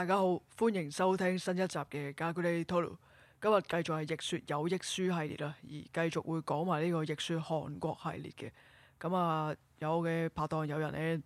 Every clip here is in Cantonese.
家好，歡迎收聽新一集嘅《家居的討論》。今日繼續係逆說有益書系列啦，而繼續會講埋呢個逆說韓國系列嘅。咁啊，有嘅拍檔有人呢，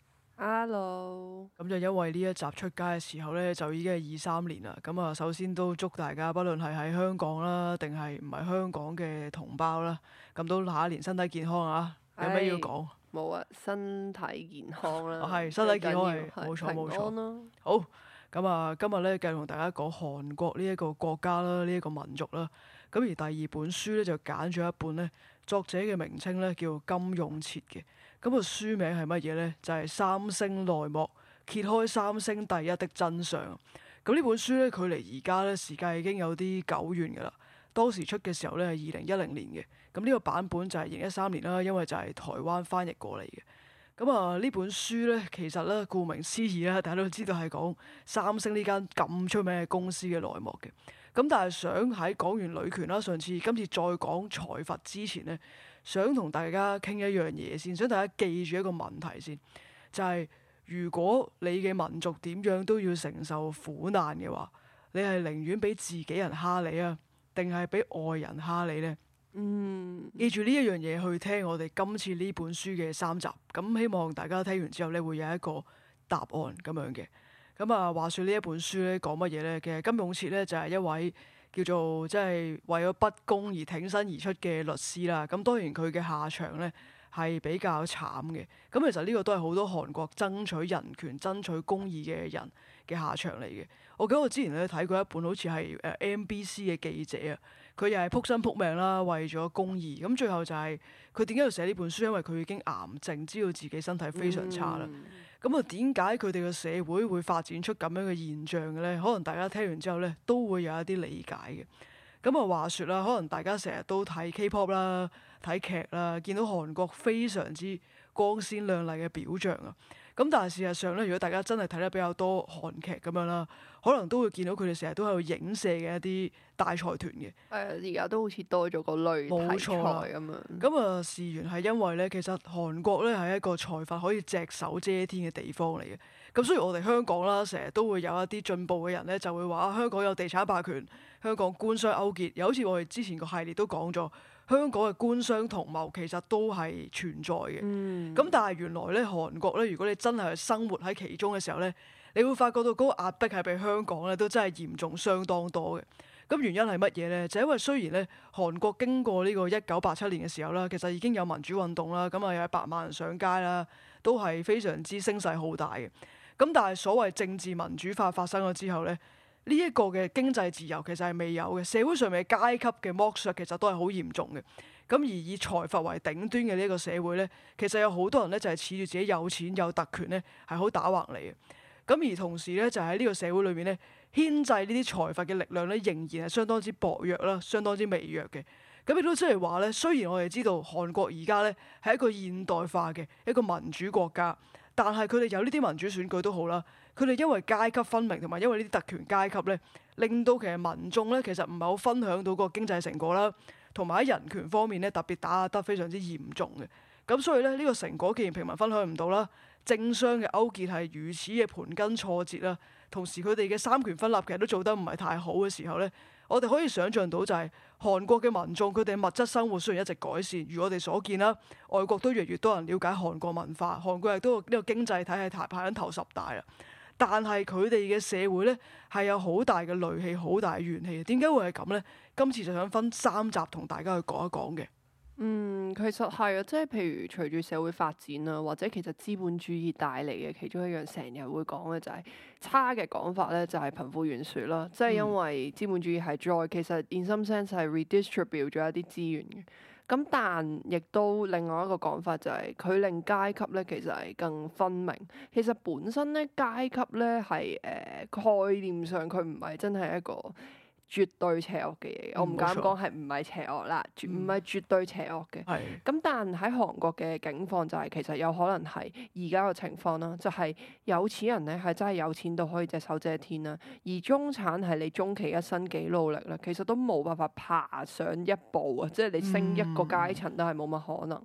Hello， 咁就因為呢一集出街嘅時候呢，就已經係23年啦。咁啊，首先都祝大家，不論係喺香港啦，定係唔係香港嘅同胞啦，咁都下一年身體健康啊！有咩要講？ 冇啊，身體健康啦， 係身體健康係最緊要冇錯冇錯平安咯。 好，咁啊，今日咧繼續同大家講韓國呢一個國家啦，呢一個民族啦。咁而第二本書咧就揀咗一本咧，作者嘅名稱咧叫金永徹嘅。咁個書名係乜嘢咧？就係三星內幕，揭開三星第一的真相。咁呢本書咧，距離而家咧時間已經有啲久遠㗎啦。當時出嘅時候咧係2010年嘅。咁呢個版本就係2013年啦，因為就係台灣翻譯過嚟嘅。咁啊，呢本書咧，其實咧，顧名思義啦，大家都知道係講三星呢間咁出名嘅公司嘅內幕嘅。咁但係想喺講完女權啦，今次再講財閥之前咧，想同大家傾一樣嘢先，想大家記住一個問題先，就係如果你嘅民族點樣都要承受苦難嘅話，你係寧願俾自己人蝦你啊，定係俾外人蝦你呢？記住呢一樣嘢去聽我哋今次呢本書嘅3集，咁希望大家聽完之後咧會有一個答案咁樣嘅。咁啊，話說呢一本書咧講乜嘢咧？其實金永徹咧就係一位叫做即係為咗不公而挺身而出嘅律師啦。咁當然佢嘅下場咧係比較慘嘅。咁其實呢個都係好多韓國爭取人權、爭取公義嘅人嘅下場嚟嘅。我記得我之前咧睇過一本好似係MBC 嘅記者啊。佢又係撲身撲命啦，為咗公義。咁最後就係佢點解要寫呢本書？因為佢已經癌症，知道自己身體非常差啦。咁啊，點解佢哋嘅社會會發展出咁樣嘅現象嘅咧？可能大家聽完之後咧，都會有一啲理解嘅。咁啊，話說啦，可能大家成日都睇 K-pop 啦、睇劇啦，見到韓國非常之光鮮亮麗嘅表象啊。咁但係事實上咧，如果大家真係睇得比較多韓劇咁樣啦，可能都會見到佢哋成日都喺度影射嘅一啲大財團嘅。 而家都好似多咗個類題材咁樣。 咁啊，事緣係因為咧，其實韓國咧係一個財閥可以隻手遮天嘅地方嚟嘅。咁所以我哋香港啦，成日都會有一啲進步嘅人咧，就會話香港有地產霸權，香港官商勾結。又好似我哋之前個系列都講咗，香港嘅官商同謀其實都係存在嘅。咁但係原來咧，韓國咧，如果你真係生活喺其中嘅時候咧，你會發覺到嗰個壓迫係比香港咧都真係嚴重相當多嘅。咁原因係乜嘢咧？就因為雖然咧，韓國經過呢個1987年嘅時候啦，其實已經有民主運動啦，咁啊有100萬人上街啦，都係非常之聲勢浩大嘅。咁但係所謂政治民主化發生咗之後咧，呢一個嘅經濟自由其實係未有嘅，社會上面嘅階級嘅剝削其實都係好嚴重嘅。咁而以財閥為頂端嘅呢一個社會咧，其實有好多人咧就係恃住自己有錢有特權咧，係好打橫嚟嘅。咁而同時咧，就喺呢個社會裏面咧，牽制呢啲財閥嘅力量咧，仍然係相當之薄弱啦，相當之微弱嘅。咁亦都即係話咧，雖然我哋知道韓國而家咧係一個現代化嘅一個民主國家，但係佢哋有呢啲民主選舉都好啦，佢哋因為階級分明同埋因為呢啲特權階級咧，令到其實民眾咧其實唔係好分享到個經濟成果啦，同埋喺人權方面咧特別打壓得非常之嚴重嘅。咁所以咧呢個成果既然平民分享唔到啦，政商嘅勾結係如此嘅盤根錯節啦，同時佢哋嘅三權分立其實都做得唔係太好嘅時候咧，我哋可以想像到就係韓國嘅民眾佢哋物質生活雖然一直改善，如我哋所見啦，外國都越嚟越多人了解韓國文化，韓國亦都呢個經濟體系排緊頭10大啦。但係佢哋嘅社會咧係有好大嘅戾氣、好大嘅怨氣。點解會係咁咧？今次就想分3集同大家去講一講嘅。 其實係啊，即係譬如隨住社會發展啦，或者其實資本主義帶嚟嘅其中一樣成日會講嘅就係差嘅講法咧，就係貧富懸殊啦。即係因為資本主義係其實 in some sense 係 redistribute 咗一啲資源嘅。咁但亦都另外一個講法就係佢令階級咧其實係更分明。其實本身咧階級咧係概念上佢唔係真係一個絕對邪惡嘅嘢，我唔敢講係唔係邪惡啦，唔係絕對邪惡嘅。咁但喺韓國嘅境況就係其實有可能係而家嘅情況啦，就係有錢人咧係真係有錢到可以隻手遮天啦，而中產係你終其一生幾努力啦，其實都冇辦法爬上一步啊，即係你升一個階層都係冇乜可能。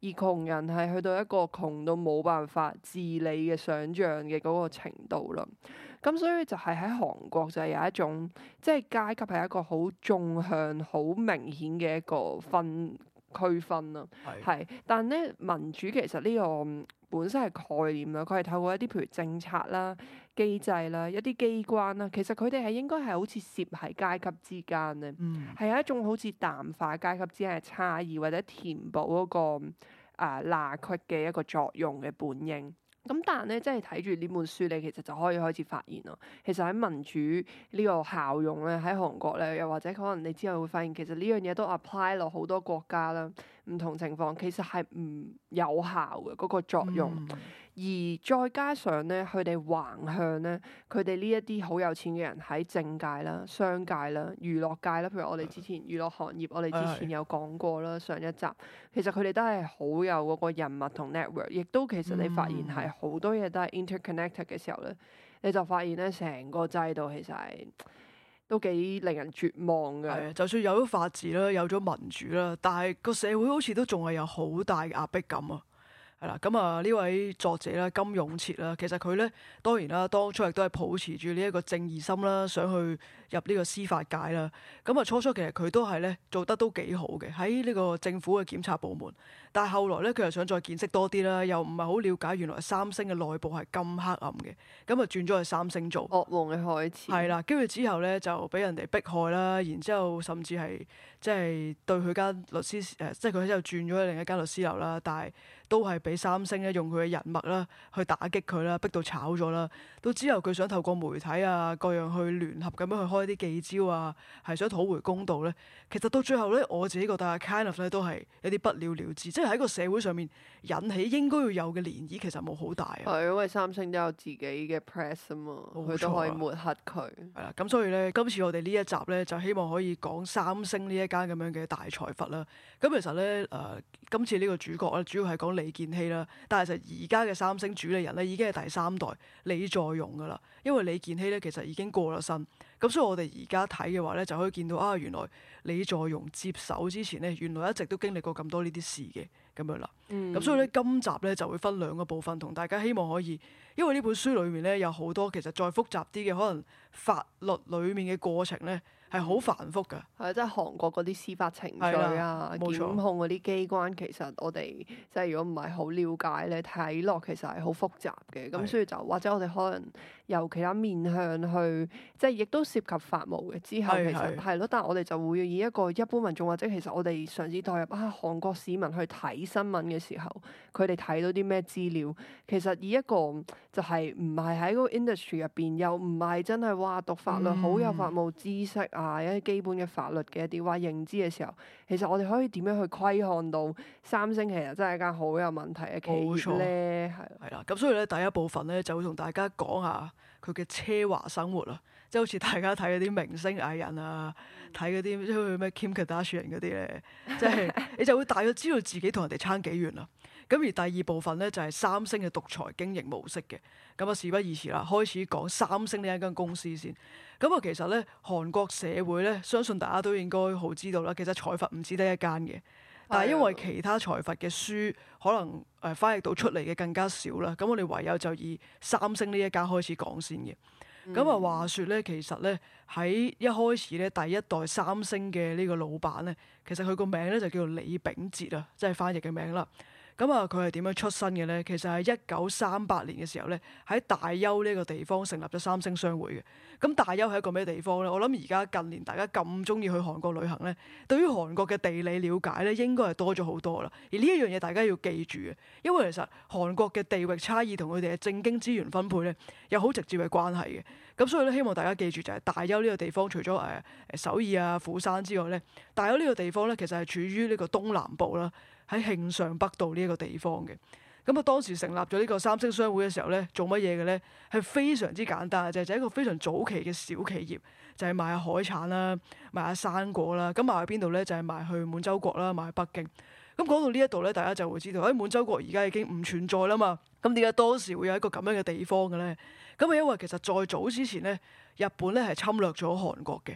而窮人係去到一個窮到冇辦法自理嘅想像嘅嗰個程度啦。咁所以就係喺韓國就係有一種即係階級係一個好縱向、好明顯嘅一個區分啦。係，但咧民主其實呢個本身係概念啦，佢係透過一啲譬如政策啦、機制啦、一啲機關啦，其實佢哋係應該係好似攝喺階級之間咧，係有一種好似淡化階級之間嘅差異，或者填補嗰個罅隙嘅一個作用嘅本應。咁但係咧，即係睇住呢本書，你其實就可以開始發現咯。其實喺民主呢個效用咧，喺韓國咧，又或者可能你之後會發現，其實呢樣嘢都 apply 落好多國家啦，唔同情況其實係唔有效嘅嗰個作用。而再加上咧，佢哋橫向咧，佢哋呢一啲好有錢嘅人喺政界啦、商界啦、娛樂界啦，譬如我哋之前娛樂行業，我哋之前有講過啦，上一集其實佢哋都係好有嗰個人脈同 network，亦都其實你發現係好多嘢都係 interconnected 嘅時候咧，你就發現咧成個制度其實係都幾令人絕望嘅。 係啊，就算有咗法治啦，有咗民主啦，但係個社會好似都仲係有好大嘅壓迫感啊！係啦，咁啊呢位作者啦，金勇徹啦，其實佢咧當然啦，當初亦都係抱持住呢一個正義心啦，想去入呢個司法界啦。咁啊初初其實佢都係咧做得都幾好嘅，喺呢個政府嘅檢察部門。但係後來咧，佢又想再見識多啲啦，又唔係好了解原來三星嘅內部係咁黑暗嘅，咁啊轉咗去三星做噩夢嘅開始。 係啦，跟住之後咧就俾人哋迫害啦，然之後甚至係即係對佢間律師即係佢之後轉咗去另一間律師樓啦，但係都係俾三星咧用佢嘅人脈啦去打擊佢啦，逼到炒咗啦。到之後佢想透過媒體啊各樣去聯合咁樣去開啲記招啊，係想討回公道咧。其實到最後咧，我自己覺得 kind of 咧都係有啲不了了之，即係喺個社會上面引起應該要有嘅漣漪，其實冇好大啊。 係因為三星都有自己嘅 press 啊嘛，佢都可以抹黑佢。 係啦，咁所以咧，今次我哋呢一集咧就希望可以講三星呢一間咁樣嘅大財閥啦。咁其實咧今次呢個主角咧主要係講李健熙啦，但係其實而家嘅三星主理人咧已經係第三代李在鎔噶啦，因為李健熙咧其實已經過咗身。咁所以我哋而家睇嘅話咧，就可以見到啊，原來李在鎔接手之前咧，原來一直都經歷過咁多呢啲事嘅咁樣啦。咁所以咧，今集咧就會分兩個部分，同大家希望可以，因為呢本書裡面咧有好多其實再複雜啲嘅，可能法律裡面嘅過程咧係好繁複㗎。 係即係韓國嗰啲司法程序啊、檢控嗰啲機關，其實我哋即係如果唔係好了解咧，睇落其實係好複雜嘅。咁所以就或者我哋可能由其他面向去，即係亦都涉及法務嘅。之後其實係咯，但係我哋就會以一個一般民眾或者其實我哋嘗試代入韓國市民去睇新聞嘅時候，佢哋睇到啲咩資料，其實以一個就係唔係喺嗰個 industry 入邊，又唔係真係話讀法律好有法務知識啊，一啲基本嘅法律嘅一啲話認知嘅時候，其實我哋可以點樣去窺看到三星其實真係間好有問題嘅企業咧？ 係啦，咁所以咧第一部分咧就會同大家講下佢嘅奢華生活啊，即係好似大家睇嗰啲明星藝人啊，睇嗰啲即係咩 Kim Kardashian 嗰啲咧，即係你就會大約知道自己同人哋差幾遠啦。咁而第二部分咧就係三星嘅獨裁經營模式嘅。咁啊事不宜遲啦，開始講三星呢一間公司先。咁啊其實咧韓國社會咧，相信大家都應該好知道啦。其實財閥唔止得一間嘅，但係因為其他財閥嘅書可能翻譯到出嚟嘅更加少啦。咁我哋唯有就以三星呢一間開始講先嘅。咁啊話說咧，其實咧喺一開始咧第一代三星嘅呢個老闆咧，其實佢個名咧就叫做李秉哲啊，即係翻譯嘅名啦。咁啊，佢係點樣出身嘅咧？其實係1938年嘅時候咧，喺大邱呢個地方成立咗三星商會嘅。咁大邱係一個咩地方咧？我諗而家近年大家咁中意去韓國旅行咧，對於韓國嘅地理了解咧，應該係多咗好多啦。而呢一樣嘢大家要記住嘅，因為其實韓國嘅地域差異同佢哋嘅政經資源分配咧，有好直接嘅關係嘅。咁所以咧，希望大家記住就係大邱呢個地方，除咗首爾啊、釜山之外咧，大邱呢個地方咧，其實係處於呢個東南部啦。喺慶尚北道呢一個地方嘅。咁啊當時成立咗呢個三星商會嘅時候咧，做乜嘢嘅咧？係非常之簡單，就係一個非常早期嘅小企業，就係賣下海產啦，賣下生果啦。咁賣去邊度咧？就係賣去滿洲國啦，賣去北京。咁講到呢一度咧，大家就會知道喺滿洲國而家已經唔存在啦嘛。咁點解當時會有一個咁樣嘅地方嘅咧？咁啊因為其實再早之前咧，日本咧係侵略咗韓國嘅。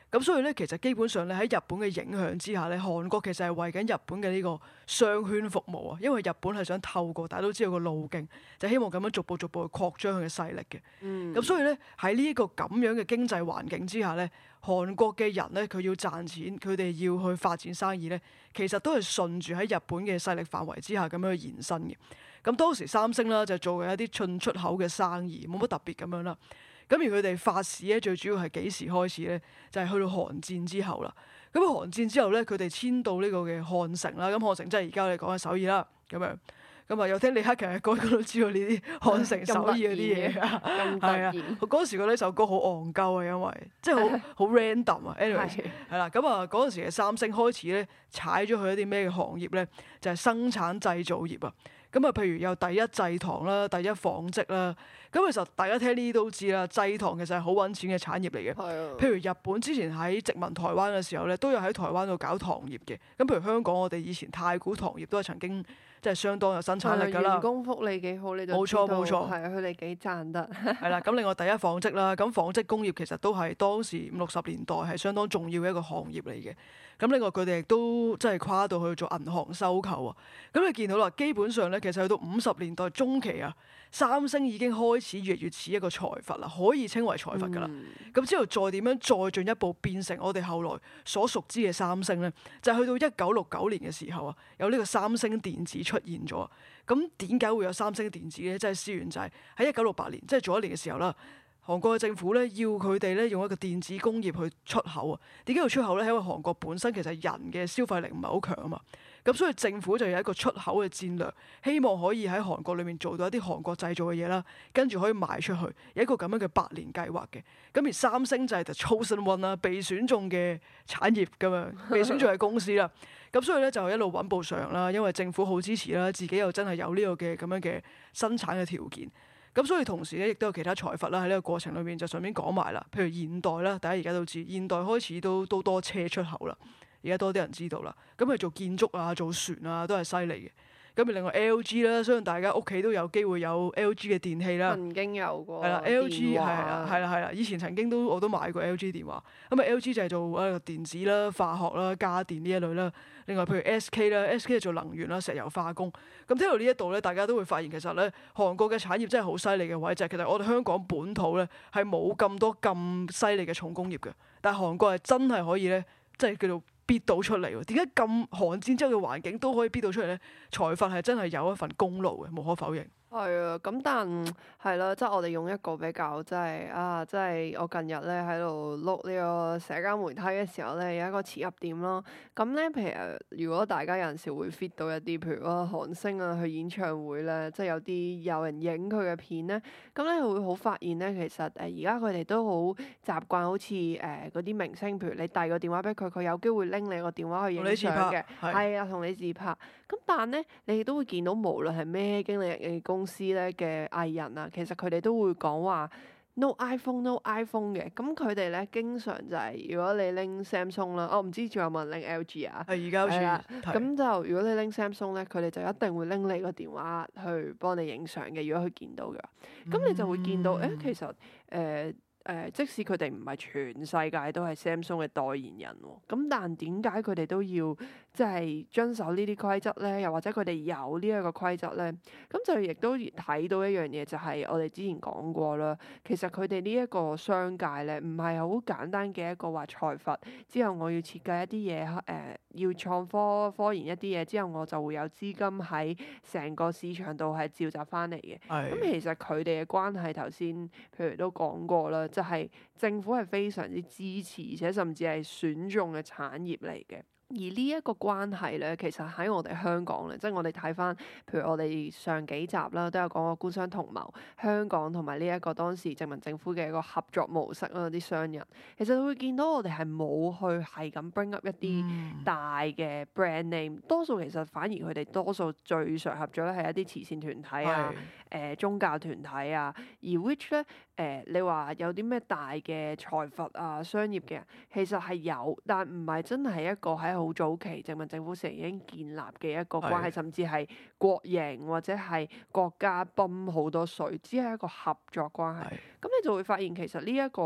咁所以咧，其實基本上咧喺日本嘅影響之下咧，韓國其實係為緊日本嘅呢個商圈服務啊，因為日本係想透過大家都知道個路徑，就希望咁樣逐步去擴張佢嘅勢力嘅。咁所以咧喺呢一個咁樣嘅經濟環境之下咧，韓國嘅人咧佢要賺錢，佢哋要去發展生意咧，其實都係順住喺日本嘅勢力範圍之下咁樣去延伸嘅。咁當時三星啦就做嘅一啲進出口嘅生意，冇乜特別咁樣啦。咁而佢哋發市咧，最主要係幾時開始咧？就係去到韓戰之後啦。咁韓戰之後咧，佢哋遷到呢個嘅漢城啦。咁漢城即係而家我哋講嘅首爾啦。咁樣咁啊，又聽李克強嘅歌，都知道呢啲漢城首爾嗰啲嘢啊。係啊，嗰時覺得呢首歌好戇鳩啊，因為即係好 random 啊。anyway 係啦，咁啊嗰陣時嘅三星開始咧踩咗去一啲咩嘅行業咧？就係生產製造業啊。咁啊，譬如有第一製糖啦、第一紡織啦，咁其實大家聽呢啲都知啦，製糖其實係好揾錢嘅產業嚟嘅。譬如日本之前喺殖民台灣嘅時候咧，都有喺台灣度搞糖業嘅。咁譬如香港，我哋以前太古糖業都係曾經即係相當有生產力㗎啦。 員工福利幾好，你就冇錯冇錯， 係啊，佢哋幾賺得。 係啦，咁另外第一紡織啦，咁紡織工業其實都係當時50-60年代係相當重要嘅一個行業嚟嘅。咁另外佢哋亦都即係跨到去做銀行收購啊！咁你見到啦，基本上咧，其實去到50年代中期啊，三星已經開始越嚟越似一個財閥啦，可以稱為財閥噶啦。咁之後再點樣再進一步變成我哋後來所熟知嘅三星咧，就係去到1969年嘅時候啊，有呢個三星電子出現咗。咁點解會有三星電子咧？即係事源就係喺1968年，即係做一年嘅時候啦。韓國嘅政府咧要佢哋咧用一個電子工業去出口啊。點解要出口咧？係因為韓國本身其實人嘅消費力唔係好強啊嘛。咁所以政府就有一個出口嘅戰略，希望可以喺韓國裏面做到一啲韓國製造嘅嘢啦，跟住可以賣出去，有一個咁樣嘅百年計劃嘅。咁而三星就係 The Chosen One 啦，被選中嘅產業咁樣，被選中嘅公司啦。咁所以咧就一路穩步上啦，因為政府好支持啦，自己又真係有呢個嘅咁樣嘅生產嘅條件。咁所以同時咧，亦都有其他財閥啦喺呢個過程裏面就順便講埋啦。譬如現代啦，大家而家都知，現代開始都多車出口啦，而家多啲人知道啦。咁佢做建築啊、做船啊都係犀利嘅。咁而另外 LG 啦，相信大家屋企都有機會有 LG 嘅電器啦。 曾經有過。 係啦，LG 係啦，以前曾經我都買過 LG 電話。咁啊 LG 就係做電子啦、化學啦、家電呢一類啦。另外譬如 SK 啦，SK 係做能源啦、石油化工。咁聽到呢一度咧，大家都會發現其實咧，韓國嘅產業真係好犀利嘅位，就係其實我哋香港本土咧係冇咁多咁犀利嘅重工業嘅，但係韓國係真係可以咧，即係叫做逼到出嚟喎。點解咁韓戰之後嘅環境都可以逼到出嚟咧？財閥係真係有一份功勞嘅，無可否認。 係啊，咁但係啦，即係我哋用一個比較即係我近日咧喺度碌呢個社交媒體嘅時候咧，有一個切入點咯。咁咧，譬如如果大家有陣時會 fit 到一啲，譬如韓星啊去演唱會咧，即係有人影佢嘅片咧，咁咧會好發現咧，其實而家佢哋都好習慣，好似嗰啲明星，譬如你遞個電話俾佢，佢有機會拎你個電話去影相嘅，係啊，同你自拍。咁但咧，你都會見到無論係咩經理人嘅公司咧嘅藝人啊，其實佢哋都會講話 no iPhone 嘅。咁佢哋咧經常就係如果你拎 Samsung 啦，我唔知仲有冇人拎 LG 啊？ 係而家好似咁就如果你拎 Samsung 咧，佢哋就一定會拎你個電話去幫你影相嘅。如果佢見到嘅，咁你就會見到其實即使佢哋唔係全世界都係 Samsung 嘅代言人喎，咁但點解佢哋都要即係遵守呢啲規則咧？又或者佢哋有呢一個規則咧？咁就亦都睇到一樣嘢，就係我哋之前講過啦。其實佢哋呢一個商界咧，唔係好簡單嘅一個話財閥之後，我要設計一啲嘢，要創科研一啲嘢之後，我就會有資金喺成個市場度係召集翻嚟嘅。咁其實佢哋嘅關係頭先，譬如都講過啦。就係政府係非常之支持，而且甚至係選中嘅產業嚟嘅。而呢一個關係咧，其實喺我哋香港咧，即係我哋睇翻，譬如我哋上幾集啦，都有講過官商同謀，香港同埋呢一個當時殖民政府嘅一個合作模式啦，啲商人其實會見到我哋係冇去係咁 bring up 一啲大嘅 brand name，多數其實反而佢哋多數最常合作咧係一啲慈善團體啊。宗教團體啊，而 which 咧你話有啲咩大嘅財閥啊、商業嘅人，其實係有，但唔係真係一個喺好早期殖民政府時已經建立嘅一個關係，甚至係國營或者係國家泵好多水，只係一個合作關係。咁你就會發現其實呢一個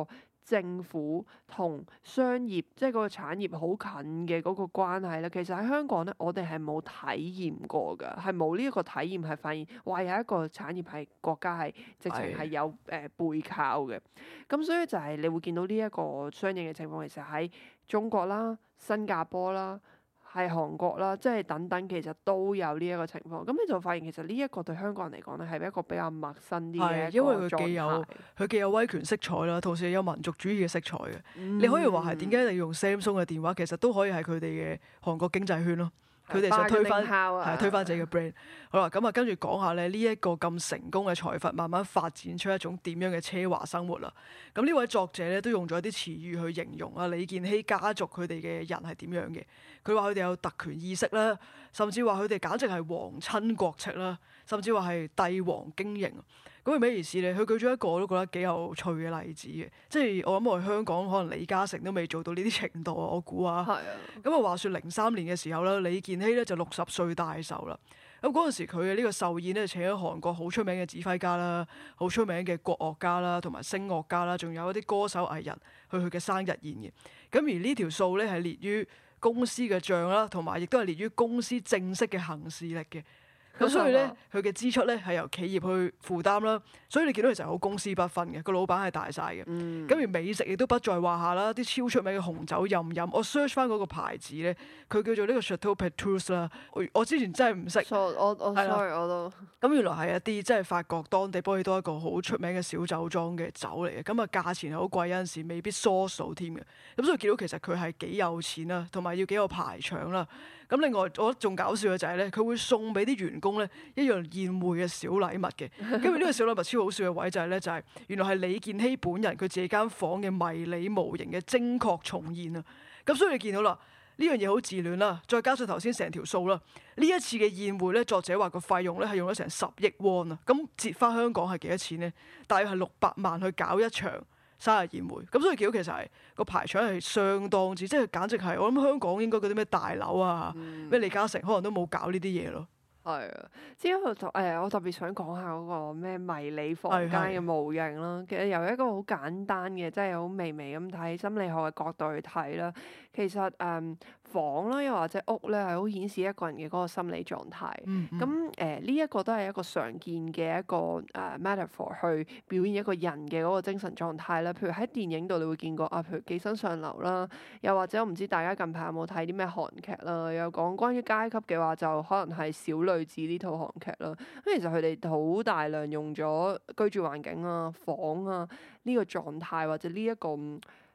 政府同商業，即係嗰個產業好近嘅嗰個關係咧，其實喺香港咧，我哋係冇體驗過㗎，係冇呢一個體驗係發現，哇！有一個產業係國家係直情係有背靠嘅。咁所以就係你會見到呢一個相應嘅情況，其實喺中國啦、新加坡啦、係韓國啦，即係等等，其實都有呢一個情況。咁你就發現其實呢一個對香港人嚟講咧，係一個比較陌生啲嘅一因為個狀態。 佢既有威權色彩啦，同時又有民族主義嘅色彩嘅。 嗯你可以話係點解你用 Samsung 嘅電話，其實都可以係佢哋嘅韓國經濟圈咯。佢哋想推翻 bargaining power 係推翻自己嘅 brand。好啦，咁啊跟住講下咧呢一個咁成功嘅財閥，慢慢發展出一種點樣嘅奢華生活啦。咁呢位作者咧都用咗一啲詞語去形容啊李健熙家族佢哋嘅人係點樣嘅。佢話佢哋有特權意識啦，甚至話佢哋簡直係皇親國戚啦，甚至話係帝王經營。咁係咩意思咧？佢舉咗一個我都覺得幾有趣嘅例子嘅，即係我諗我哋香港可能李嘉誠都未做到呢啲程度啊，我估啊。 係啊， 咁啊話說03年嘅時候咧，李健熙咧就60歲大壽啦。咁嗰陣時佢嘅呢個壽宴咧請咗韓國好出名嘅指揮家啦、好出名嘅國樂家啦、同埋聲樂家啦，仲有一啲歌手藝人去佢嘅生日宴嘅。咁而呢條數咧係列於公司嘅帳啦，同埋亦都係列於公司正式嘅行事歷嘅。咁所以咧，佢嘅支出咧係由企業去負擔啦，所以你見到其實好公私不分嘅，個老闆係大晒嘅。咁而美食亦都不在話下啦，啲超出名嘅紅酒任飲。我 search 翻嗰個牌子咧，佢叫做呢個 Chateau Petrus 啦。我之前真係唔識。 我係啦 sorry 我都咁原來係一啲即係法國當地波爾多一個好出名嘅小酒莊嘅酒嚟嘅，咁啊價錢係好貴，有陣時未必 source 到添嘅。咁所以見到其實佢係幾有錢啦，同埋要幾有排場啦。咁另外我覺得仲搞笑嘅就係咧，佢會送俾啲員工咧一樣宴會嘅小禮物嘅。咁而呢個小禮物超好笑嘅位就係咧，就係原來係李健熙本人佢自己間房嘅迷你模型嘅精確重現啊。咁所以你見到啦。呢樣嘢好自戀啦，再加上頭先成條數啦，呢一次嘅宴會咧，作者話個費用咧係用咗成10億won啊，咁折翻香港係幾多錢咧？大約係600萬去搞一場生日宴會，咁所以見到其實係個排場係相當之，即係簡直係我諗香港應該嗰啲咩大樓啊，咩李嘉誠可能都冇搞呢啲嘢咯。 係啊，之後就我特別想講下嗰個咩迷你房間嘅模型啦。其實由一個好簡單嘅，即係好微微咁睇心理學嘅角度去睇啦，其實房啦，又或者屋咧，係好顯示一個人嘅嗰個心理狀態。咁呢一個都係一個常見嘅一個metaphor 去表現一個人嘅嗰個精神狀態啦。譬如喺電影度你會見過啊，譬如寄生上流啦，又或者我唔知大家近排有冇睇啲咩韓劇啦，有講關於階級嘅話，就可能係小女子呢套韓劇啦。咁其實佢哋好大量用咗居住環境啊、房啊呢個狀態或者呢一個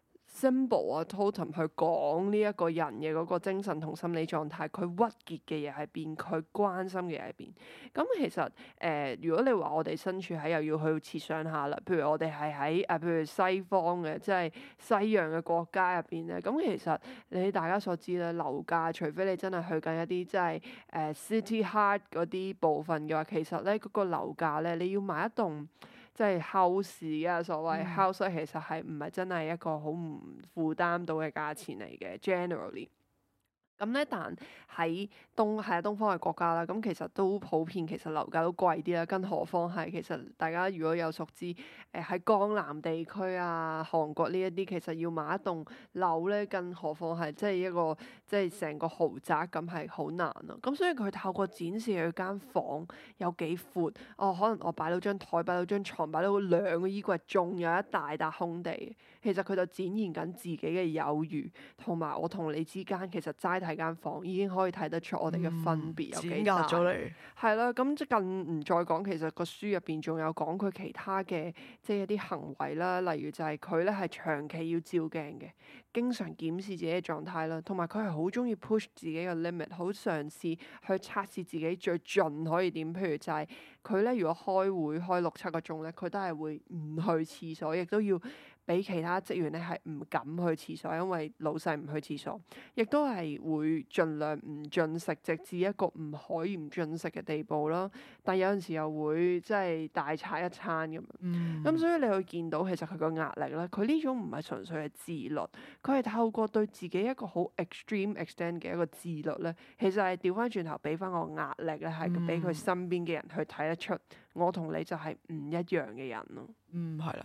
symbol 啊 totem 去講呢一個人嘅嗰個精神同心理狀態，佢鬱結嘅嘢喺邊，佢關心嘅嘢喺邊。咁其實如果你話我哋身處喺又要去設想下啦，譬如我哋係喺譬如西方嘅，即係西洋嘅國家入邊咧，咁其實你大家所知咧，樓價除非你真係去緊一啲即係city heart 嗰啲部分嘅話，其實咧嗰個樓價咧，你要買一棟即係 house 啊，所謂 house 其實係唔係真係一個好唔負擔到嘅價錢嚟嘅 generally。咁咧，但喺東方嘅國家啦，咁其實都普遍，其實樓價都貴啲啦。更何況係其實大家如果有熟知喺江南地區啊、韓國呢一啲，其實要買一棟樓咧，更何況係即係一個即係成個豪宅咁係好難咯。咁所以佢透過展示佢間房有幾闊，可能我擺到張台、擺到張床、擺到2個衣櫃，仲有一大笪空地。其實佢就展現緊自己嘅有餘，同埋我同你之間其實齋睇間房已經可以睇得出我哋嘅分別有幾大。 咗你係啦，咁即更唔再講，其實個書入邊仲有講佢其他嘅即係一啲行為啦，例如就係佢咧係長期要照鏡嘅，經常檢視自己嘅狀態啦，同埋佢係好中意 push 自己嘅 limit， 好嘗試去測試自己最盡可以點。譬如就係佢咧，如果開會開6-7個鐘咧，佢都係會唔去廁所，亦都要俾其他職員咧係唔敢去廁所，因為老細唔去廁所，亦都係會盡量唔進食，直至一個唔可以唔進食嘅地步啦。但有陣時又會即係大餐一餐咁樣。咁所以你會見到其實佢個壓力咧，佢呢種唔係純粹係自律，佢係透過對自己一個好 extreme extent 嘅一個自律咧，其實係調翻轉頭俾翻個壓力咧，係俾佢身邊嘅人去睇得出，我同你就係唔一樣嘅人咯。 係啦。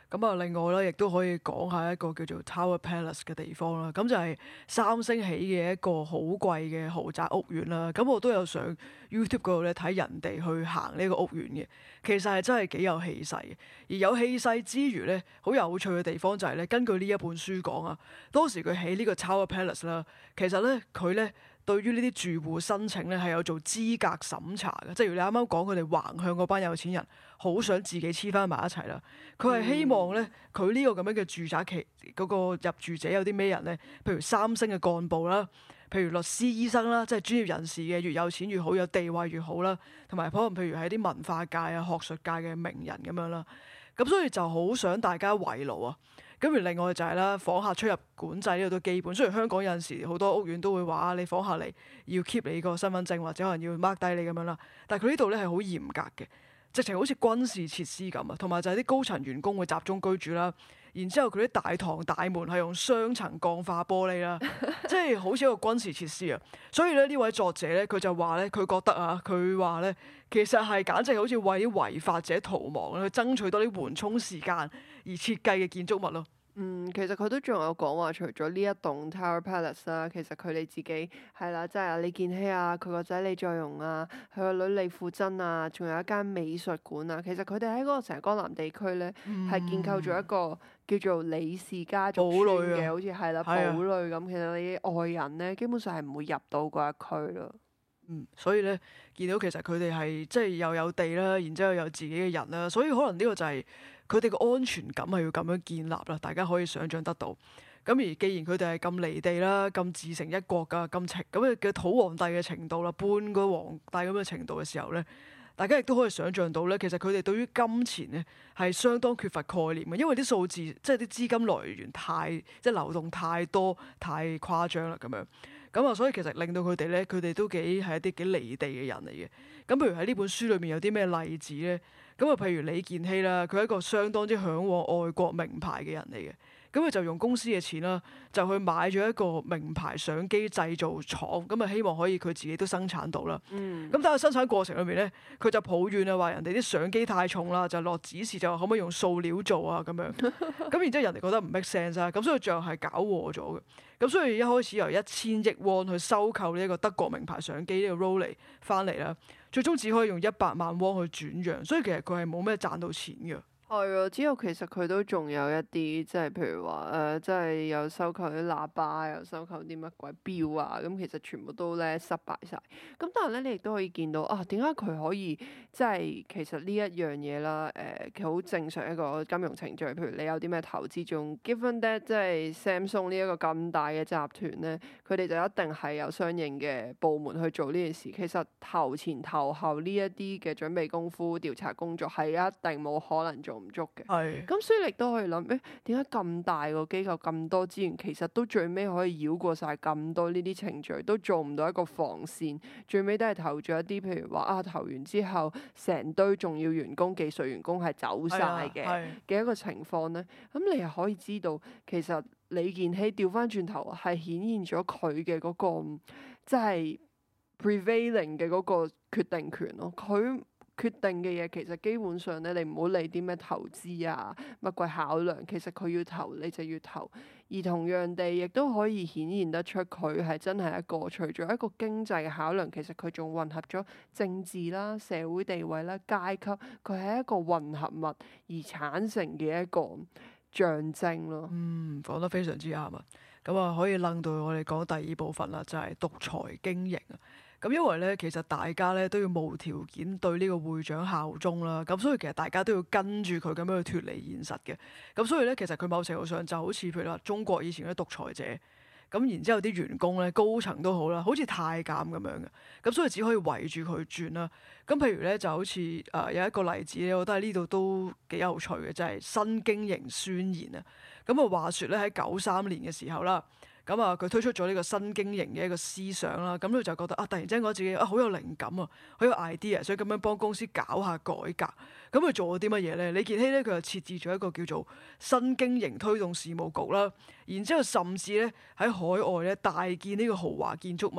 咁啊，另外咧，亦都可以講下一個叫做 Tower Palace 嘅地方啦。咁就係三星起嘅一個好貴嘅豪宅屋苑啦。咁我都有上 YouTube 嗰度咧睇人哋去行呢個屋苑嘅，其實係真係幾有氣勢嘅。而有氣勢之餘咧，好有趣嘅地方就係咧，根據呢一本書講啊，當時佢起呢個 Tower Palace 啦，其實咧佢咧，對於呢啲住戶申請咧係有做資格審查嘅，即係如你啱啱講佢哋橫向嗰班有錢人好想自己黐翻埋一齊啦。佢係希望咧，佢呢個咁樣嘅住宅期嗰個入住者有啲咩人咧？譬如三星嘅幹部啦，譬如律師、醫生啦，即係專業人士嘅，越有錢越好，有地位越好啦。同埋可能譬如係啲文化界啊、學術界嘅名人咁樣啦。咁所以就好想大家圍爐啊！咁而另外就係啦，訪客出入管制呢個都基本。雖然香港有陣時好多屋苑都會話你訪客嚟要 keep 你個身份證或者可能要 mark 低你咁樣啦，但係佢呢度咧係好嚴格嘅，直情好似軍事設施咁啊。同埋就係啲高層員工會集中居住啦，然之後佢啲大堂大門係用雙層鋼化玻璃啦，即係好似一個軍事設施啊。所以咧呢位作者咧佢就話咧，佢覺得啊，佢話咧其實係簡直好似為啲違法者逃亡去爭取多啲緩衝時間而設計嘅建築物咯。 其實佢都仲有講話，除咗呢一棟 Tower Palace 啦，其實佢哋自己係啦，即係李健熙啊，佢個仔李在鎔啊，佢個女李富真啊，仲有一間美術館啊。其實佢哋喺嗰個成江南地區咧，係建構咗一個叫做李氏家族村嘅，好似係啦，堡壘咁。其實你外人咧，基本上係唔會入到嗰一區咯。 所以咧，見到其實佢哋係即係又有地啦，然之後有自己嘅人啦，所以可能呢個就係佢哋嘅安全感係要咁樣建立啦。大家可以想像得到。咁而既然佢哋係咁離地啦，咁自成一國㗎，咁嘅土皇帝嘅程度啦，半個皇帝咁嘅程度嘅時候咧，大家亦都可以想像到咧，其實佢哋對於金錢咧係相當缺乏概念嘅，因為啲數字即係啲資金來源即係流動太多太誇張啦咁樣。咁啊，所以其實令到佢哋咧，佢哋都係一啲幾離地嘅人嚟嘅。咁譬如喺呢本書裏面有啲咩例子咧？咁啊，譬如李健熙啦，佢係一個相當之嚮往外國名牌嘅人嚟嘅。咁佢就用公司嘅錢啦，就去買咗一個名牌相機製造廠，咁啊希望可以佢自己都生產到啦。咁但係生產過程裏面咧，佢就抱怨啊，話人哋啲相機太重啦，就落指示就話可唔可以用塑料做啊咁樣。咁然之後人哋覺得唔 make sense 啊，咁所以最後係搞禍咗嘅。咁所以一開始由1000億won去收購呢一個德國名牌相機呢個 Rollei 翻嚟啦，最終只可以用100萬won去轉讓，所以其實佢係冇咩賺到錢嘅。 係啊，之後其實佢都仲有一啲，即係譬如話即係有收購啲喇叭，又收購啲乜鬼錶啊，咁其實全部都咧失敗晒。咁但係咧，你亦都可以見到啊，點解佢可以即係其實呢一樣嘢啦？其實好正常一個金融程序。譬如你有啲咩投資，仲 given that 即係 Samsung 呢一個咁大嘅集團咧，佢哋就一定係有相應嘅部門去做呢件事。其實頭前頭後呢一啲嘅準備功夫、調查工作係一定冇可能做唔足嘅，咁所以你都可以諗，點解咁大個機構咁多資源，其實都最尾可以繞過晒咁多呢啲程序，都做唔到一個防線，最尾都係投咗一啲，譬如話啊，投完之後成堆重要員工、技術員工係走晒嘅一個情況咧，咁你又可以知道，其實李健熙調翻轉頭係顯現咗佢嘅嗰個即係 prevailing 嘅嗰個決定權咯，佢決定嘅嘢其實基本上咧，你唔好理啲咩投資啊，乜鬼考量，其實佢要投你就要投。而同樣地，亦都可以顯現得出佢係真係一個除咗一個經濟嘅考量，其實佢仲混合咗政治啦、社會地位啦、階級，佢係一個混合物而產生嘅一個象徵咯。 講得非常之啱啊！咁啊，可以楞到我哋講第二部分啦，就係獨裁經營啊。咁因為咧，其實大家咧都要無條件對呢個會長效忠啦，咁所以其實大家都要跟住佢咁樣去脫離現實嘅。咁所以咧，其實佢某程度上就好似譬如話中國以前嗰啲獨裁者，咁然之後啲員工咧高層都好啦，好似太監咁樣嘅，咁所以只可以圍住佢轉啦。咁譬如咧就好似有一個例子咧，我覺得喺呢度都幾有趣嘅，就係新經營宣言啊。咁啊話説咧喺93年嘅時候啦。咁啊，佢推出咗呢個新經營嘅一個思想啦，咁佢就覺得突然之間覺得自己好有靈感啊，好有 idea，所以咁樣幫公司搞下改革。咁佢做咗啲乜嘢咧？李健熙咧，佢就設置咗一個叫做新經營推動事務局啦，然之後甚至咧喺海外咧大建呢個豪華建築物啊。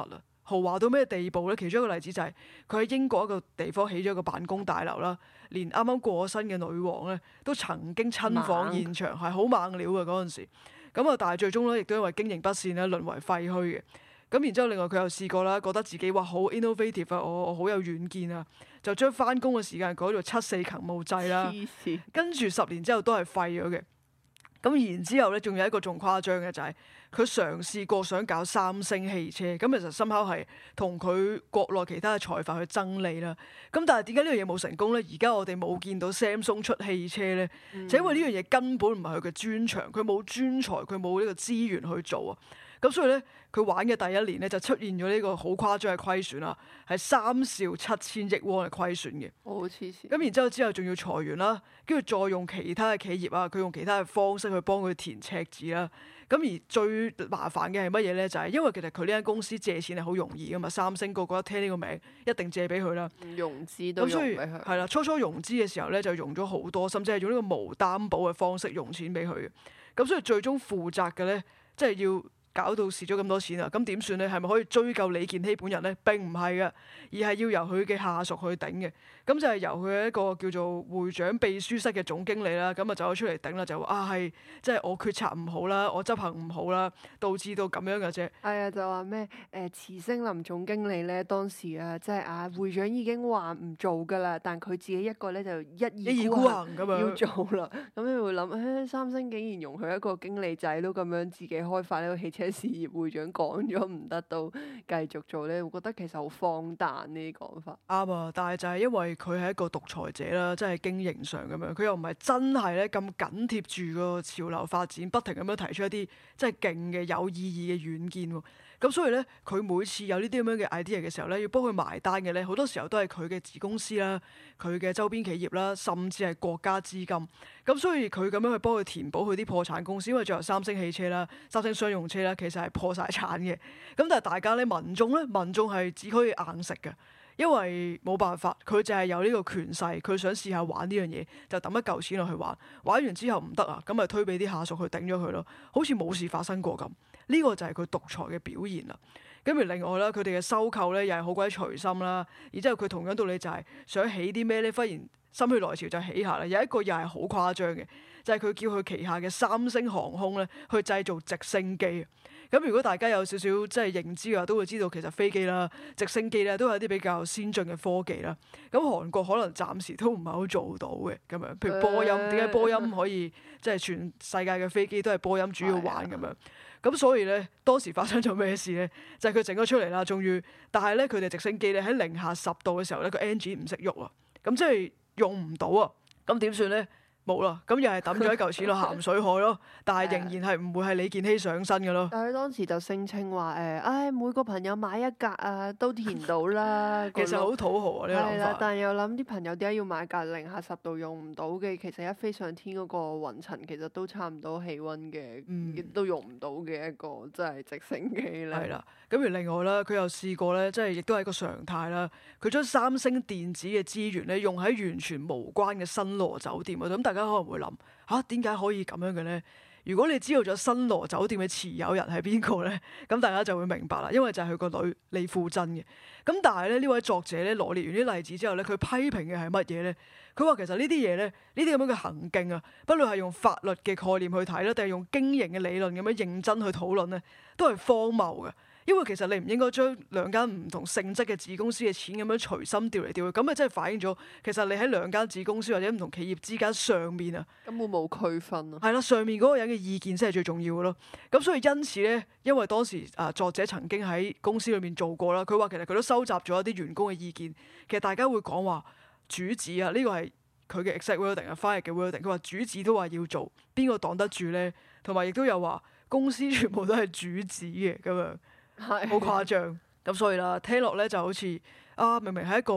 豪華到咩地步咧？其中一個例子就係佢喺英國一個地方起咗一個辦公大樓啦，連啱啱過咗身嘅女王咧都曾經親訪現場，係好猛料嘅嗰陣時。咁啊，但係最終咧亦都因為經營不善咧，淪為廢墟嘅。咁然之後，另外佢又試過啦，覺得自己哇好 innovative 啊，我好有遠見啊，就將翻工嘅時間改做7/4勤務制啦。 黐線。 跟住10年之後都係廢咗嘅。咁然之後咧，仲有一個仲誇張嘅就係佢嘗試過想搞三星汽車，咁其實深刻係同佢國內其他嘅財閥去爭利啦。咁但係點解呢樣嘢冇成功咧？而家我哋冇見到 Samsung 出汽車咧，就因為呢樣嘢根本唔係佢嘅專長，佢冇專才，佢冇呢個資源去做啊。咁所以咧，佢玩嘅第一年咧就出現咗呢個好誇張嘅虧損啦，係3兆7千億圜嘅虧損嘅。 好黐線。 咁然之後仲要裁員啦，跟住再用其他嘅企業啊，佢用其他嘅方式去幫佢填赤字啦。咁而最麻煩嘅係乜嘢咧？就係因為其實佢呢間公司借錢係好容易噶嘛，三星個個一聽呢個名一定借俾佢啦。 融資都用俾佢。 係啦，初融資嘅時候咧就用咗好多，甚至係用呢個無擔保嘅方式用錢俾佢嘅。咁所以最終負責嘅咧，即係要搞到蝕咗咁多錢啊！咁點算咧？係咪可以追究李健熙本人咧？並唔係嘅，而係要由佢嘅下屬去頂嘅。咁就係由佢一個叫做會長秘書室嘅總經理啦，咁啊走咗出嚟頂啦，就話係即係我決策唔好啦，我執行唔好啦，導致到咁樣嘅啫。 係啊，就話咩慈星林總經理咧，當時啊，即係啊會長已經話唔做噶啦，但佢自己一個咧就一意孤行咁樣要做啦。咁你會諗，三星竟然容許一個經理仔都咁樣自己開發呢個汽車事業，會長講咗唔得到繼續做咧，我覺得其實好荒誕呢啲講法。 啱啊，但係就係因為佢係一個獨裁者啦，即係經營上咁樣，佢又唔係真係咧咁緊貼住個潮流發展，不停咁樣提出一啲即係勁嘅有意義嘅遠見喎。咁所以咧，佢每次有呢啲咁樣嘅 idea 嘅時候咧，要幫佢埋單嘅咧，好多時候都係佢嘅子公司啦、佢嘅周邊企業啦，甚至係國家資金。咁所以佢咁樣去幫佢填補佢啲破產公司，因為最後三星汽車啦、三星商用車啦，其實係破晒產嘅。咁但係大家咧，民眾係只可以硬食嘅。因為冇辦法，佢就係有呢個權勢，佢想試下玩呢樣嘢，就抌一嚿錢落去玩，玩完之後唔得啊，咁咪推俾啲下屬去頂咗佢咯，好似冇事發生過咁。呢個就係佢獨裁嘅表現啦。咁而另外啦，佢哋嘅收購咧又係好鬼隨心啦，然之後佢同樣道理就係想起啲咩咧，忽然心血來潮就起下啦。有一個又係好誇張嘅，就係佢叫佢旗下嘅三星航空咧去製造直升機。咁如果大家有少少即係認知嘅話，都會知道其實飛機啦、直升機咧都係一啲比較先進嘅科技啦。咁韓國可能暫時都唔係好做到嘅咁樣。譬如波音，點解波音可以即係全世界嘅飛機都係波音主要玩咁樣？咁所以咧，當時發生咗咩事咧？就係佢整咗出嚟啦，終於，但係咧佢哋直升機咧喺零下10度嘅時候咧，個 engine 唔識喐啊，咁即係用唔到啊，咁點算咧？冇啦，咁又係抌咗一嚿錢落鹹水海咯，但係仍然係唔會係李健熙上身嘅咯。 但係佢當時就聲稱話每個朋友買一格啊，都填到啦。 其實好土豪啊呢個諗法。 但係又諗啲朋友點解要買格零下10度用唔到嘅？其實一飛上天嗰個雲層其實都差唔多氣温嘅，亦都用唔到嘅一個即係直升機咧。 係啦，咁而另外啦，佢又試過咧，即係亦都係一個常態啦。佢將三星電子嘅資源咧用喺完全無關嘅新羅酒店啊，咁大家可能會諗嚇點解可以咁樣嘅咧？如果你知道咗新羅酒店嘅持有人係邊個咧，咁大家就會明白啦，因為就係佢個女李富真嘅。咁但係咧呢位作者咧羅列完啲例子之後咧，佢批評嘅係乜嘢咧？佢話其實呢啲嘢咧，呢啲咁樣嘅行徑啊，不論係用法律嘅概念去睇啦，定係用經營嘅理論咁樣認真去討論咧，都係荒謬嘅。因為其實你唔應該將兩間唔同性質嘅子公司嘅錢咁樣隨心調嚟調去，咁咪真係反映咗其實你喺兩間子公司或者唔同企業之間上面啊， 根本冇區分啊。 係啦，上面嗰個人嘅意見先係最重要嘅咯。咁所以因此咧，因為當時作者曾經喺公司裏面做過啦，佢話其實佢都收集咗一啲員工嘅意見。其實大家會講話主子啊，呢個係佢嘅 exact wording 啊，翻譯嘅 wording。佢話主子都話要做，邊個擋得住咧？同埋亦都有話公司全部都係主子嘅咁樣。好誇張，咁所以啦，聽落咧就好似明明係一個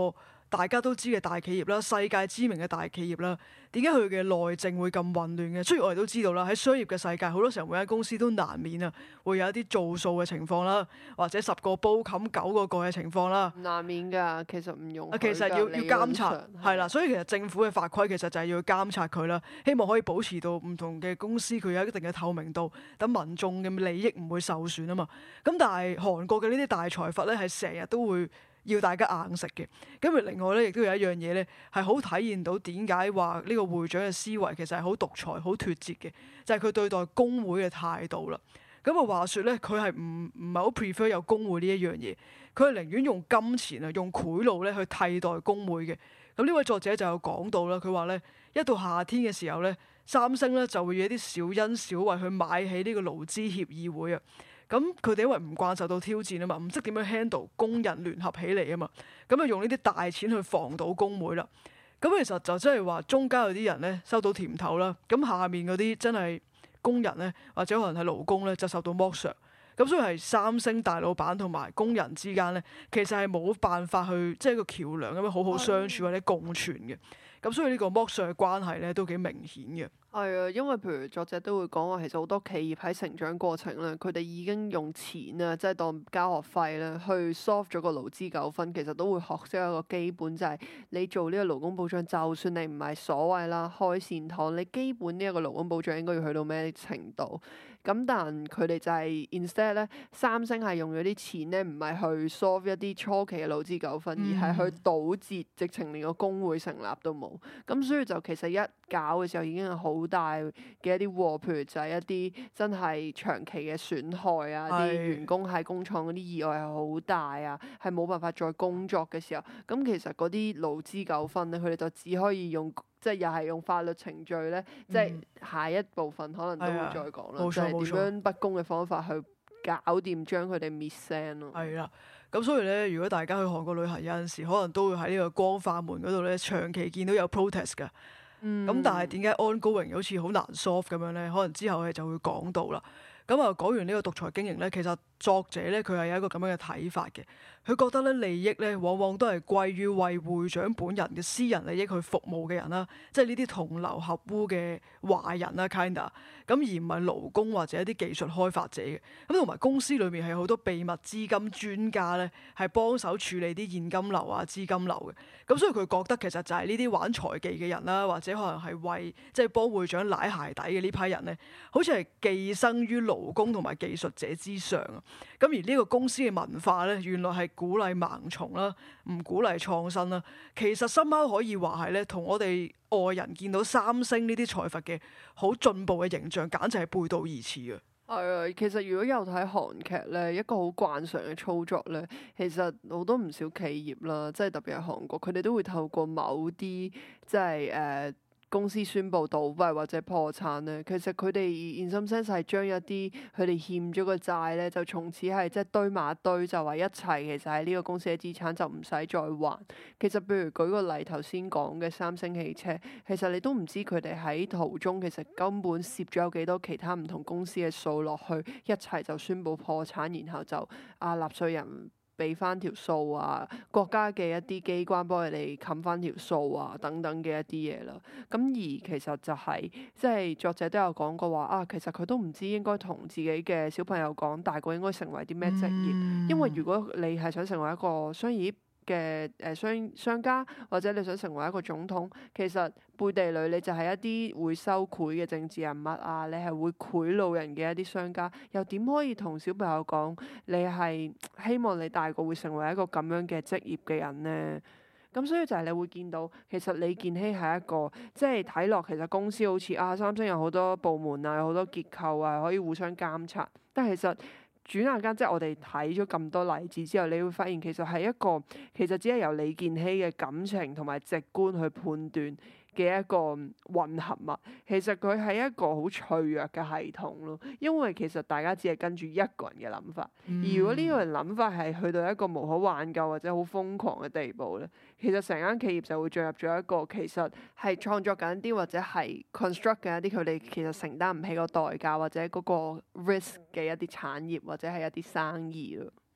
大家都知嘅大企業啦，世界知名嘅大企業啦，點解佢嘅內政會咁混亂嘅？雖然我哋都知道啦，喺商業嘅世界，好多時候每間公司都難免啊，會有一啲造數嘅情況啦，或者10個煲冚9個蓋嘅情況啦。 難免㗎，其實唔用。 其實要監察，係啦，所以其實政府嘅法規其實就係要監察佢啦，希望可以保持到唔同嘅公司佢有一定嘅透明度，等民眾嘅利益唔會受損啊嘛。咁但係韓國嘅呢啲大財閥咧，係成日都會要大家硬食嘅。咁而另外咧，亦都有一樣嘢咧，係好體現到點解話呢個會長嘅思維其實係好獨裁、好脱節嘅，就係佢對待工會嘅態度啦。咁啊話説咧，佢係唔係好 prefer 有工會呢一樣嘢，佢係寧願用金錢啊、用賄賂咧去替代工會嘅。咁呢位作者就有講到啦，佢話咧，一到夏天嘅時候咧，三星咧就會以一啲小恩小惠去買起呢個勞資協議會啊。咁佢哋因為唔慣受到挑戰啊嘛，唔識點樣 handle 工人聯合起嚟啊嘛，咁啊用呢啲大錢去防到工會啦。咁其實就真係話中間有啲人咧收到甜頭啦，咁下面嗰啲真係工人咧，或者可能係勞工咧，就受到剝削。咁所以係三星大老闆同埋工人之間咧，其實係冇辦法去即係一個橋梁咁樣好好相處或者共存嘅。咁所以呢個剝削嘅關係咧都幾明顯嘅。 係啊，因為譬如作者都會講話，其實好多企業喺成長過程咧，佢哋已經用錢啊，即係當交學費咧，去 solve 咗個勞資糾紛。其實都會學識一個基本，就係你做呢個勞工保障，就算你唔係所謂啦開善堂，你基本呢一個勞工保障應該要去到咩程度？咁但佢哋就係 instead 咧，三星係用咗啲錢咧，唔係去 solve 一啲初期嘅勞資糾紛，而係去堵截，直情連個工會成立都冇。咁所以就其實一搞嘅時候已經係好大嘅一啲禍，譬如就係一啲真係長期嘅損害啊，啲員工喺工廠嗰啲意外係好大啊，係冇辦法再工作嘅時候，咁其實嗰啲勞資糾紛咧，佢哋就只可以用。即係又係用法律程序咧，即係下一部分可能都會再講啦，就係點樣不公嘅方法去搞掂將佢哋滅聲咯。 係啦，咁所以咧，如果大家去韓國旅行有陣時，可能都會喺呢個光化門嗰度咧，長期見到有 protest 㗎。咁但係點解 ongoing 好似好難 solve 咁樣咧？可能之後我哋就會講到啦。咁啊，講完呢個獨裁經營咧，其實作者咧佢係有一個咁樣嘅睇法嘅。佢覺得咧利益咧往往都係歸於為會長本人嘅私人利益去服務嘅人啦，即係呢啲同流合污嘅壞人啦，kinda 咁而唔係勞工或者一啲技術開發者嘅。咁同埋公司裏面係好多秘密資金專家咧，係幫手處理啲現金流啊、資金流嘅。咁所以佢覺得其實就係呢啲玩財技嘅人啦，或者可能係為即係幫會長舐鞋底嘅呢批人咧，好似係寄生於勞工同埋技術者之上啊。咁而呢個公司嘅文化咧，原來係鼓勵盲從啦，唔鼓勵創新啦。其實深刻可以話係咧，同我哋外人見到三星呢啲財閥嘅好進步嘅形象，簡直係背道而馳嘅。 係啊，其實如果有睇韓劇咧，一個好慣常嘅操作咧，其實好多唔少企業啦，即係特別係韓國，佢哋都會透過某啲即係公司宣布倒閉或者破產咧，其實佢哋 in some sense 係將一啲佢哋欠咗個債咧，就從此係即係堆埋一堆，就話一切其實係呢個公司嘅資產就唔使再還。其實譬如舉個例，頭先講嘅三星汽車，其實你都唔知佢哋喺途中其實根本攝咗有幾多其他唔同公司嘅數落去，一齊就宣布破產，然後就納稅人俾翻條數啊，國家嘅一啲機關幫佢哋冚翻條數啊，等等嘅一啲嘢啦。咁而其實就係、即係作者都有講過話其實佢都唔知應該同自己嘅小朋友講大個應該成為啲咩職業，因為如果你係想成為一個商業嘅商家，或者你想成為一個總統，其實背地裏你就係一啲會收賄嘅政治人物啊，你係會賄賂人嘅一啲商家，又點可以同小朋友講你係希望你大個會成為一個咁樣嘅職業嘅人呢？咁所以就係你會見到，其實李健熙係一個即係睇落其實公司好似三星有好多部門啊，有好多結構啊，可以互相監察，但係其實轉眼間，即係我哋睇咗咁多例子之後，你會發現其實係一個其實只係由李健熙嘅感情同埋直觀去判斷嘅一個混合物。其實佢係一個好脆弱嘅系統咯，因為其實大家只係跟住一個人嘅諗法，而如果呢個人諗法係去到一個無可挽救或者好瘋狂嘅地步咧，其實成間企業就會進入咗一個其實係創作緊啲或者係 construct 緊一啲佢哋其實承擔唔起個代價或者嗰個 risk 嘅一啲產業或者係一啲生意咯。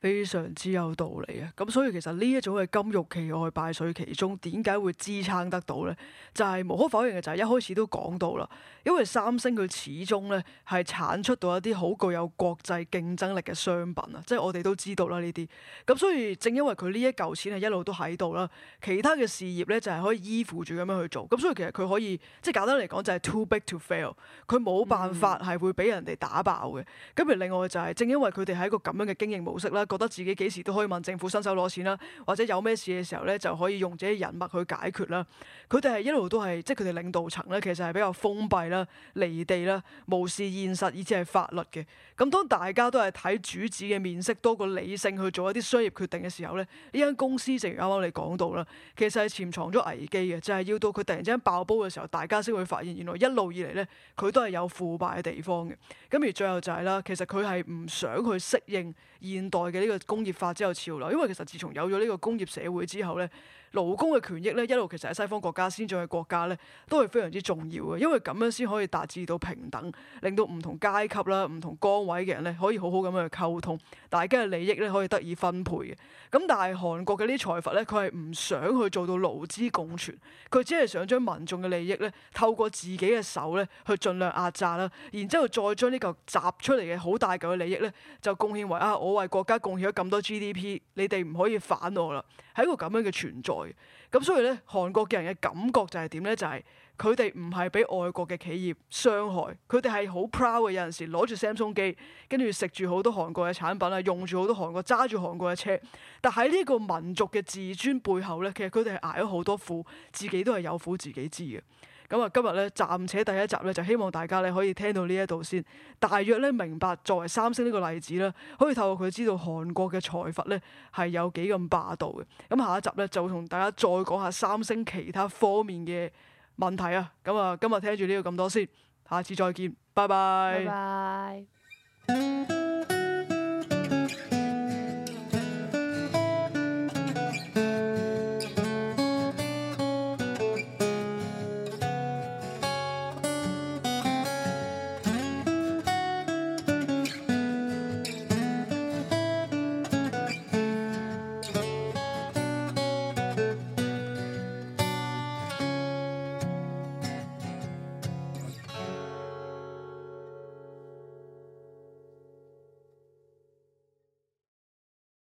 非常之有道理啊！咁所以其實呢一種嘅金玉其外敗絮其中，點解會支撐得到呢？就係無可否認嘅，就係一開始都講到啦。因為三星佢始終咧係產出到一啲好具有國際競爭力嘅商品啊，即係我哋都知道啦呢啲。咁所以正因為佢呢一嚿錢係一路都喺度啦，其他嘅事業咧就係可以依附住咁樣去做。咁所以其實佢可以即係簡單嚟講就係 too big to fail，佢冇辦法係會俾人哋打爆嘅。咁而另外就係正因為佢哋係一個咁樣嘅經營模式啦，覺得自己幾時都可以問政府伸手攞錢啦，或者有咩事嘅時候咧就可以用自己人脈去解決啦。佢哋係一路都係即係佢哋領導層咧，其實係比較封閉啦、離地啦、無視現實以至係法律嘅。咁當大家都係睇主子嘅面色多過理性去做一啲商業決定嘅時候咧，呢間公司正如啱啱你講到啦，其實係潛藏咗危機嘅，就係要到佢突然之間爆煲嘅時候，大家先會發現原來一路以嚟咧佢都係有腐敗嘅地方嘅。咁而最後就係啦，其實佢係唔想去適應現代嘅呢個工業化之後潮流，因為其實自從有咗呢個工業社會之後咧，勞工嘅權益咧一路其實喺西方國家先進嘅國家咧都係非常之重要嘅，因為咁樣先可以達至到平等，令到唔同階級啦、唔同崗位嘅人咧可以好好咁樣去溝通，大家嘅利益咧可以得以分配嘅。咁但係韓國嘅呢啲財閥咧，佢係唔想去做到勞資共存，佢只係想將民眾嘅利益咧透過自己嘅手咧去盡量壓榨啦，然之後再將呢嚿集出嚟嘅好大嚿嘅利益咧就貢獻為我為國家貢獻咗咁多 GDP，你哋唔可以反我啦，係一個咁樣嘅存在。咁所以咧，韓國嘅人嘅感覺就係點咧？就係佢哋唔係俾外國嘅企業傷害，佢哋係好 proud 嘅。有陣時攞住 Samsung 機，跟住食住好多韓國嘅產品啊，用住好多韓國揸住韓國嘅車。但喺呢個民族嘅自尊背後咧，其實佢哋係捱咗好多苦，自己都係有苦自己知嘅。咁啊，今日咧暫且第一集咧，就希望大家咧可以聽到呢一度先，大約咧明白作為三星呢個例子啦，可以透過佢知道韓國嘅財閥咧係有幾咁霸道嘅。咁下一集咧就同大家再講下三星其他方面嘅問題啊。咁啊，今日聽住呢個咁多先，下次再見，拜拜。 拜拜。